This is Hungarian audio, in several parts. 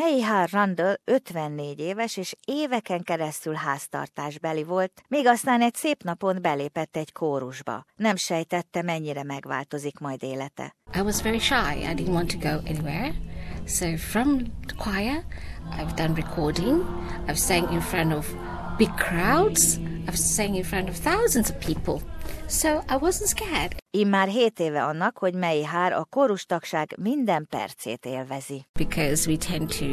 Meiha Randall 54 éves és éveken keresztül háztartásbeli volt, még aztán egy szép napon belépett egy kórusba. Nem sejtette, mennyire megváltozik majd élete. I was very shy. I didn't want to go anywhere. So from the choir, I've done recording. I've sang in front of big crowds. I've sang in front of thousands of people. So I wasn't scared. Immár 7 éve annak, hogy Meihár a kórustagság minden percét élvezi. Because we tend to,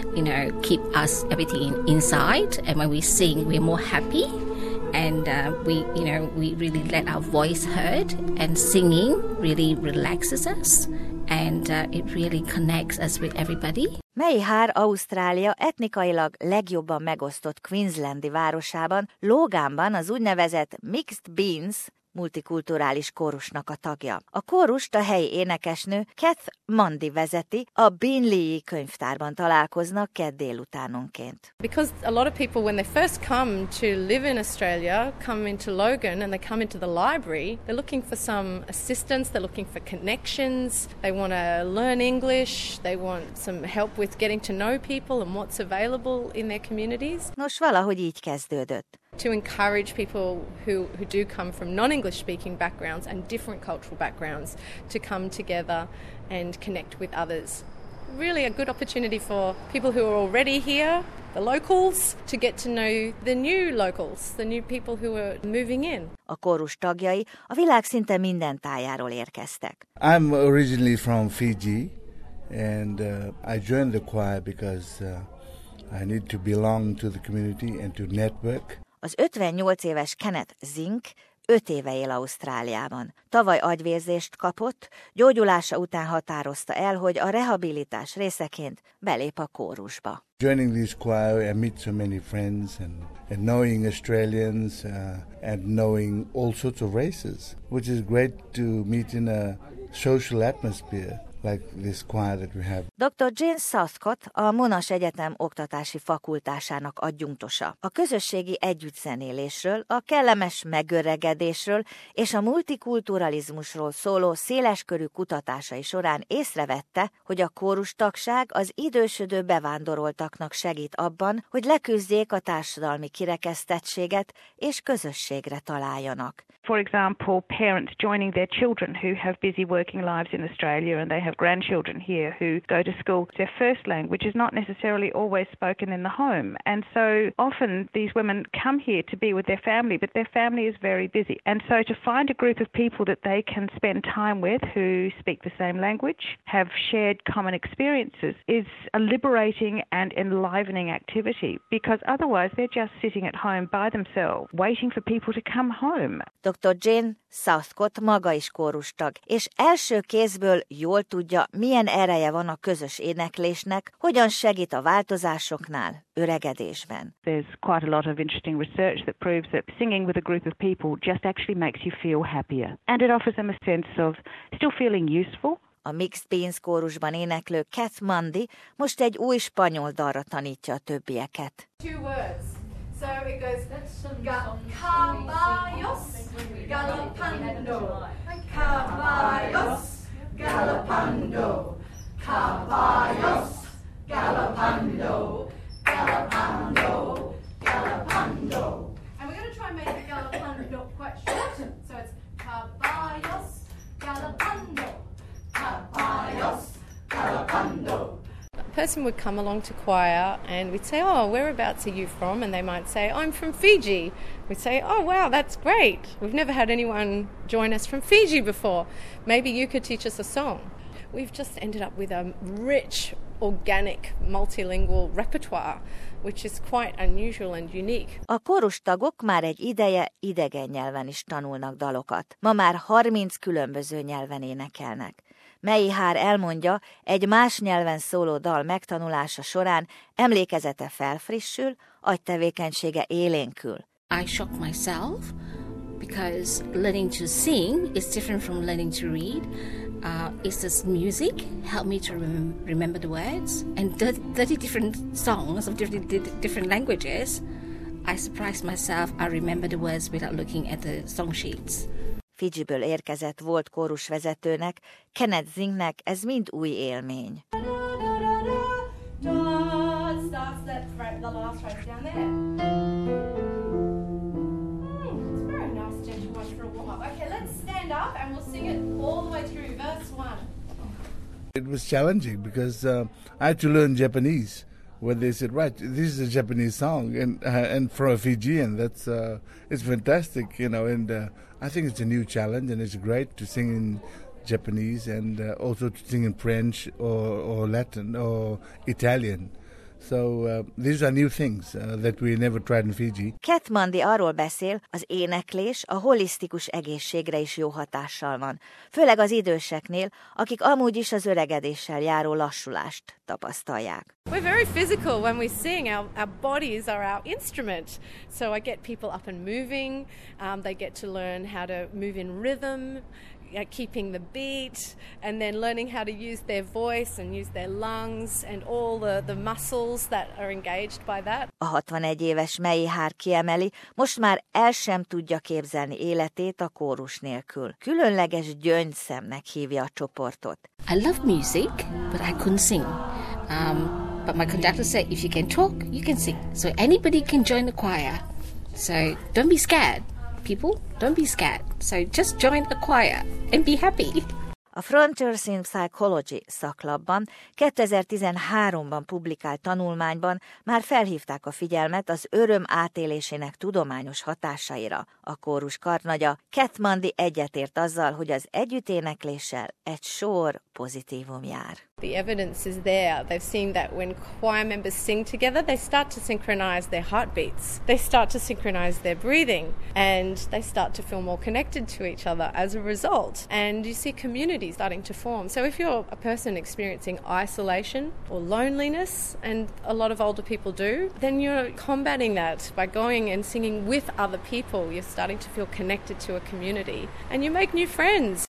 keep everything inside, and when we sing, we're more happy, and we really let our voice heard, and singing really relaxes us, and it really connects us with everybody. Meihár Ausztrália etnikailag legjobban megosztott Queenslandi városában, Loganban az úgynevezett Mixed Beans multikulturális kórusnak a tagja. A kórust a helyi énekesnő Kath Mundy vezeti, a Beenleigh könyvtárban találkoznak kedd délutánonként. Because a lot of people, when they first come to live in Australia, come into Logan and they come into the library, they're looking for some assistance, they're looking for connections, they want to learn English, they want some help with getting to know people and what's available in their communities. Nos, valahogy így kezdődött. To encourage people who do come from non-English speaking backgrounds and different cultural backgrounds to come together and connect with others. Really a good opportunity for people who are already here, the locals, to get to know the new locals, the new people who are moving in. A kórus tagjai a világ szinte minden tájáról érkeztek. I'm originally from Fiji, and I joined the choir because I need to belong to the community and to network. Az 58 éves Kenneth Zink 5 éve él Ausztráliában. Tavaly agyvérzést kapott, gyógyulása után határozta el, hogy a rehabilitás részeként belép a kórusba. Joining this choir, I meet so many friends and knowing Australians and knowing all sorts of races, which is great to meet in a social atmosphere like this choir that we have. Dr. Jane Southcott a Monash Egyetem oktatási fakultásának adjunktusa. A közösségi együttzenélésről, a kellemes megöregedésről és a multikulturalizmusról szóló széleskörű kutatásai során észrevette, hogy a kórustagság az idősödő bevándoroltaknak segít abban, hogy leküzdjék a társadalmi kirekesztettséget és közösségre találjanak. For example, parents joining their children who have busy working lives in Australia and they have grandchildren here who go to school. Their first language is not necessarily always spoken in the home. And so often these women come here to be with their family, but their family is very busy. And so to find a group of people that they can spend time with who speak the same language, have shared common experiences, is a liberating and enlivening activity, because otherwise they're just sitting at home by themselves, waiting for people to come home. Dr. Jane Southcott maga is kórustag, és első kézből jól tudja, milyen ereje van a közös éneklésnek, hogyan segít a változásoknál, öregedésben. There's quite a lot of interesting research that proves that singing with a group of people just actually makes you feel happier. And it offers them a sense of still feeling useful. A Mixed Beans kórusban éneklő Kath Mundy most egy új spanyol dalra tanítja a többieket. 2 words. So it goes, caballos galopando, caballos galopando, caballos galopando, galopando, galopando. And we're going to try and make the galopando quite short. So it's caballos galopando, caballos galopando. A person would come along to choir and we'd say, oh, whereabouts are you from? And they might say, I'm from Fiji. We'd say, oh, wow, that's great. We've never had anyone join us from Fiji before. Maybe you could teach us a song. We've just ended up with a rich, organic, multilingual repertoire, which is quite unusual and unique. A kórustagok már egy ideje idegen nyelven is tanulnak dalokat. Ma már 30 különböző nyelven énekelnek. Meihár elmondja, egy más nyelven szóló dal megtanulása során emlékezete felfrissül, agytevékenysége élénkül. I shock myself because learning to sing is different from learning to read. It's this music help me to remember the words, and 30 different songs of different languages. I surprised myself. I remember the words without looking at the song sheets. Fidzsiből érkezett volt kórusvezetőnek, Kenneth Zinknek ez mind új élmény. the last phrase down there. It's a very nice gentle one for a warm-up. Okay, let's stand up and we'll sing it all the way through, verse 1. It was challenging because I had to learn Japanese. When they said, right, this is a Japanese song, and for a Fijian, that's it's fantastic, you know. And I think it's a new challenge, and it's great to sing in Japanese and also to sing in French or Latin or Italian. So these are new things that we never tried in Fiji. Katmandi arról beszél, az éneklés a holisztikus egészségre is jó hatással van, főleg az időseknél, akik amúgy is az öregedéssel járó lassulást tapasztalják. We're very physical when we sing. Our bodies are our instrument. So I get people up and moving. They get to learn how to move in rhythm, keeping the beat, and then learning how to use their voice and use their lungs and all the muscles that are engaged by that. A 61 éves Mei Hár kiemeli, most már el sem tudja képzelni életét a kórus nélkül. Különleges gyöngyszemnek hívja a csoportot. I love music, but I couldn't sing. But my conductor said, if you can talk, you can sing. So anybody can join the choir. So don't be scared. People, don't be scared. So just join a choir and be happy. A Frontiers in Psychology szaklapban 2013-ban publikált tanulmányban már felhívták a figyelmet az öröm átélésének tudományos hatásaira. A kórus karnagya Katmandi egyetért azzal, hogy az együtténekléssel egy sor pozitívum jár. The evidence is there. They've seen that when choir members sing together, they start to synchronize their heartbeats. They start to synchronize their breathing, and they start to feel more connected to each other as a result. And you see community starting to form. So if you're a person experiencing isolation or loneliness, and a lot of older people do, then you're combating that by going and singing with other people. You're starting to feel connected to a community, and you make new friends.